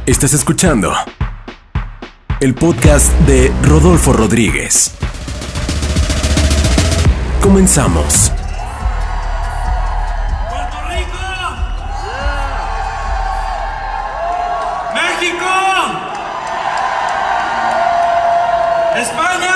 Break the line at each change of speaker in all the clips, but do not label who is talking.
Estás escuchando el podcast de Rodolfo Rodríguez. Comenzamos.
¡Puerto Rico! ¡México! ¡¡España!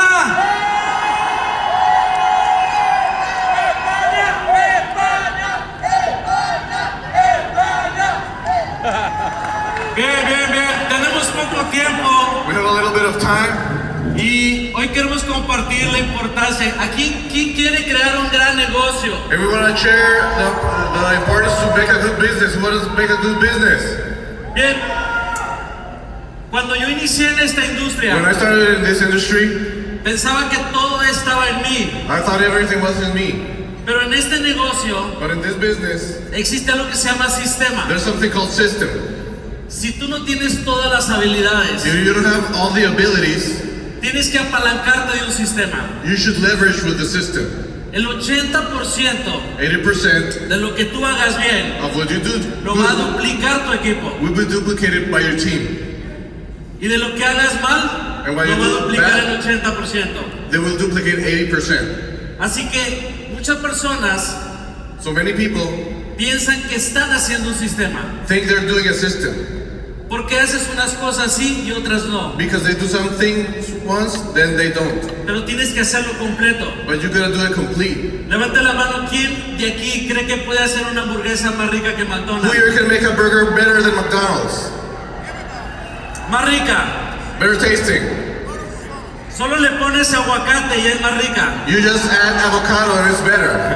Bien. Tenemos poco tiempo.
We have a little bit of time.
Y hoy queremos compartir la importancia. ¿Quién quiere crear un gran negocio?
And we want to share the importance to make a good business. What is make a good business?
Bien. Cuando yo inicié en esta
When I
industria,
started in this industry,
pensaba que todo estaba en mí.
I thought everything was in me.
Pero en este negocio
But in this business,
existe algo que se llama sistema.
there's something called system.
Si tú no tienes todas las habilidades,
If you don't have all the abilities,
tienes que apalancarte de un sistema.
you should leverage with the system.
El 80%
80%
de lo que tú hagas bien
of what you do
lo va a
good
duplicar tu equipo.
will be duplicated by your team.
Y de lo que hagas mal,
And
lo
what
va
you
a
do
duplicar
bad,
el 80%.
They will duplicate 80%.
Así que muchas personas
So many people
piensan que están haciendo un sistema.
think they're doing a system.
Porque haces unas cosas sí y otras no.
Because they do some things once, then they don't.
Pero tienes que hacerlo completo.
But you gotta do it complete.
Levante la mano, ¿quién de aquí cree que puede hacer una hamburguesa más rica que
Who
McDonald's?
here can make a burger better than McDonald's?
Más rica.
Better tasting.
Solo le pones aguacate y es más rica.
You just add avocado and it's better.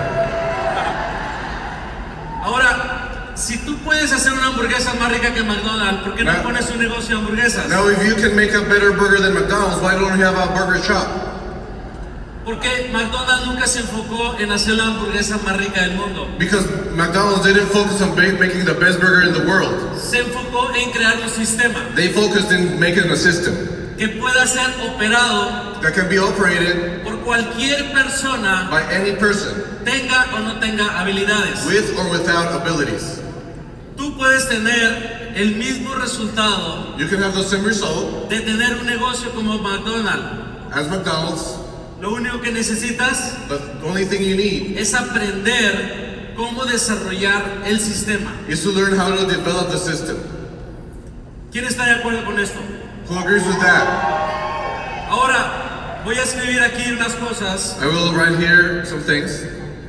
Ahora, si tú puedes hacer una hamburguesa más rica que McDonald's, ¿por qué no
No.
pones un negocio de hamburguesas?
Now if you can make a better burger than McDonald's, why don't you have a burger shop?
Porque McDonald's nunca se enfocó en hacer la hamburguesa más rica del mundo.
Because McDonald's didn't focus on making the best burger in the world.
Se enfocó en crear un sistema
They focused in making a system
que pueda ser operado
that can be operated
por cualquier persona,
by any person,
tenga o no tenga habilidades.
with or without abilities.
Tú puedes tener el mismo resultado
You can have the same result
de tener un negocio como McDonald's.
as McDonald's,
Lo único que necesitas
but the only thing you need
es aprender cómo desarrollar el sistema.
is to learn how to develop the system.
¿Quién está de acuerdo con esto?
Who agrees with that?
Ahora, voy a escribir aquí unas cosas.
I will write here some things.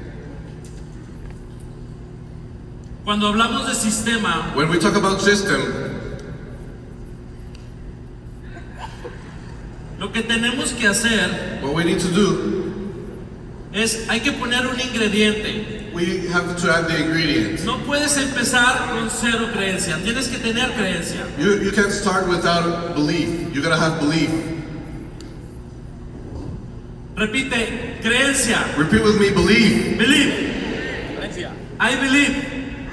Cuando hablamos de sistema,
When we talk about system,
lo que tenemos que hacer
what we need to do,
es, hay que poner un ingrediente.
we have to add the ingredients.
No puedes empezar con cero creencia, tienes que tener creencia.
You can't start without belief. You gotta have belief.
Repite, creencia.
Repeat with me, believe.
Believe. I believe.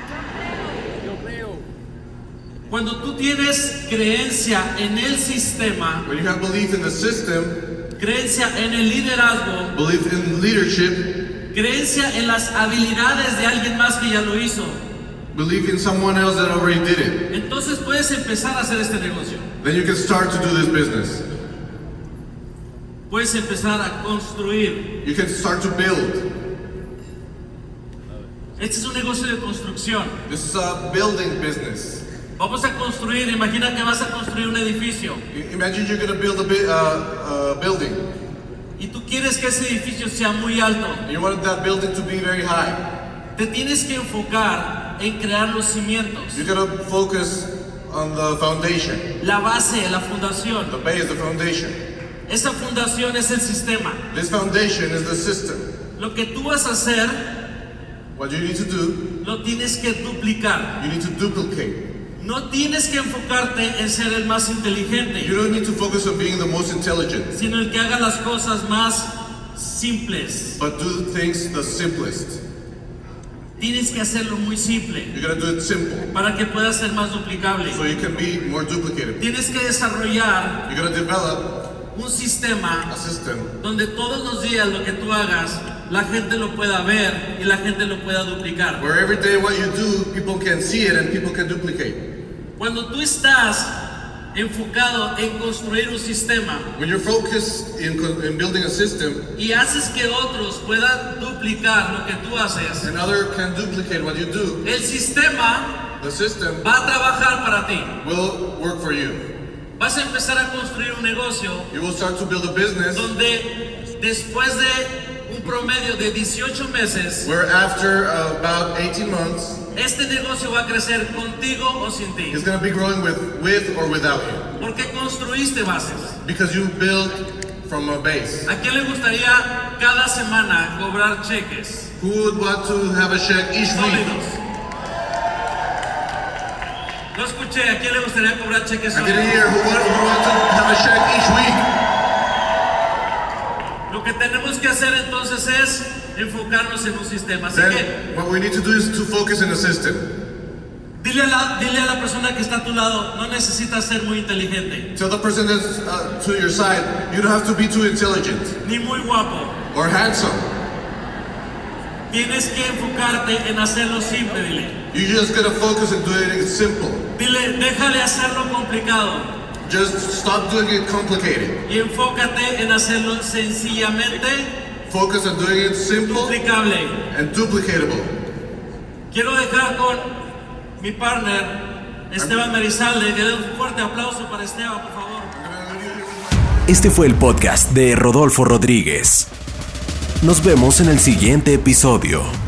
Cuando tú tienes creencia en el sistema,
When you have belief in the system,
creencia en el liderazgo,
belief in leadership,
creencia en las habilidades de alguien más que ya lo hizo,
belief in someone else that already did it,
entonces puedes empezar a hacer este negocio.
then you can start to do this business.
Puedes empezar a construir.
You can start to build.
Este es un negocio de construcción.
This is a building business.
Vamos a construir, imagina que vas a construir un edificio
Imagine you're gonna build a building.
y tú quieres que ese edificio sea muy alto.
You want that building to be very high.
Te tienes que enfocar en crear los cimientos,
You gotta focus on the foundation.
la base, la fundación.
The base, the foundation.
Esa fundación es el sistema.
This foundation is the system.
Lo que tú vas a hacer,
What you need to do,
lo tienes que duplicar.
you need to duplicate.
No tienes que enfocarte en ser el más inteligente,
You don't need to focus on being the most intelligent,
sino el que haga las cosas más simples.
but do things the simplest.
Tienes que hacerlo muy simple
You gotta do it simple,
para que pueda ser más duplicable.
so you can be more duplicated.
Tienes que desarrollar
You gotta develop
un sistema
a system
donde todos los días lo que tú hagas, la gente lo pueda ver y la gente lo pueda duplicar.
where every day what you do, people can see it and people can duplicate.
Cuando tú estás enfocado en construir un sistema
when you're focused in building a system
y haces que otros puedan duplicar lo que tú haces,
and others can duplicate what you do,
el sistema
the system
va a trabajar para ti.
will work for you.
Vas a empezar a construir un negocio
You will start to build a business
donde después de un promedio de 18 meses,
where after about 18 months,
este negocio va a crecer contigo o sin ti.
it's going to be growing with or without you.
Porque construiste bases.
Because you built from a base.
¿A quién le gustaría cada semana cobrar cheques
Who would want to have a check each week?
sólidos? No escuché, ¿a quién le gustaría cobrar cheques
I didn't
sólidos?
hear who want to have a check each week.
Lo que tenemos que hacer entonces es enfocarnos en un sistema. Así que
Then what we need to do is to focus in the system.
dile a la persona que está a tu lado, no necesitas ser muy inteligente,
Tell the person that's to your side, you don't have to be too intelligent
ni muy guapo.
or handsome.
Tienes que enfocarte en hacerlo simple, dile.
You just gotta focus on doing it simple.
Dile, deja de hacerlo complicado
Just stop doing it complicated.
y enfócate en hacerlo sencillamente
Focus on doing it simple
duplicable.
and duplicatable.
Quiero dejar con mi partner, Esteban Merizalde, que dé un fuerte aplauso para Esteban, por favor.
Este fue el podcast de Rodolfo Rodríguez. Nos vemos en el siguiente episodio.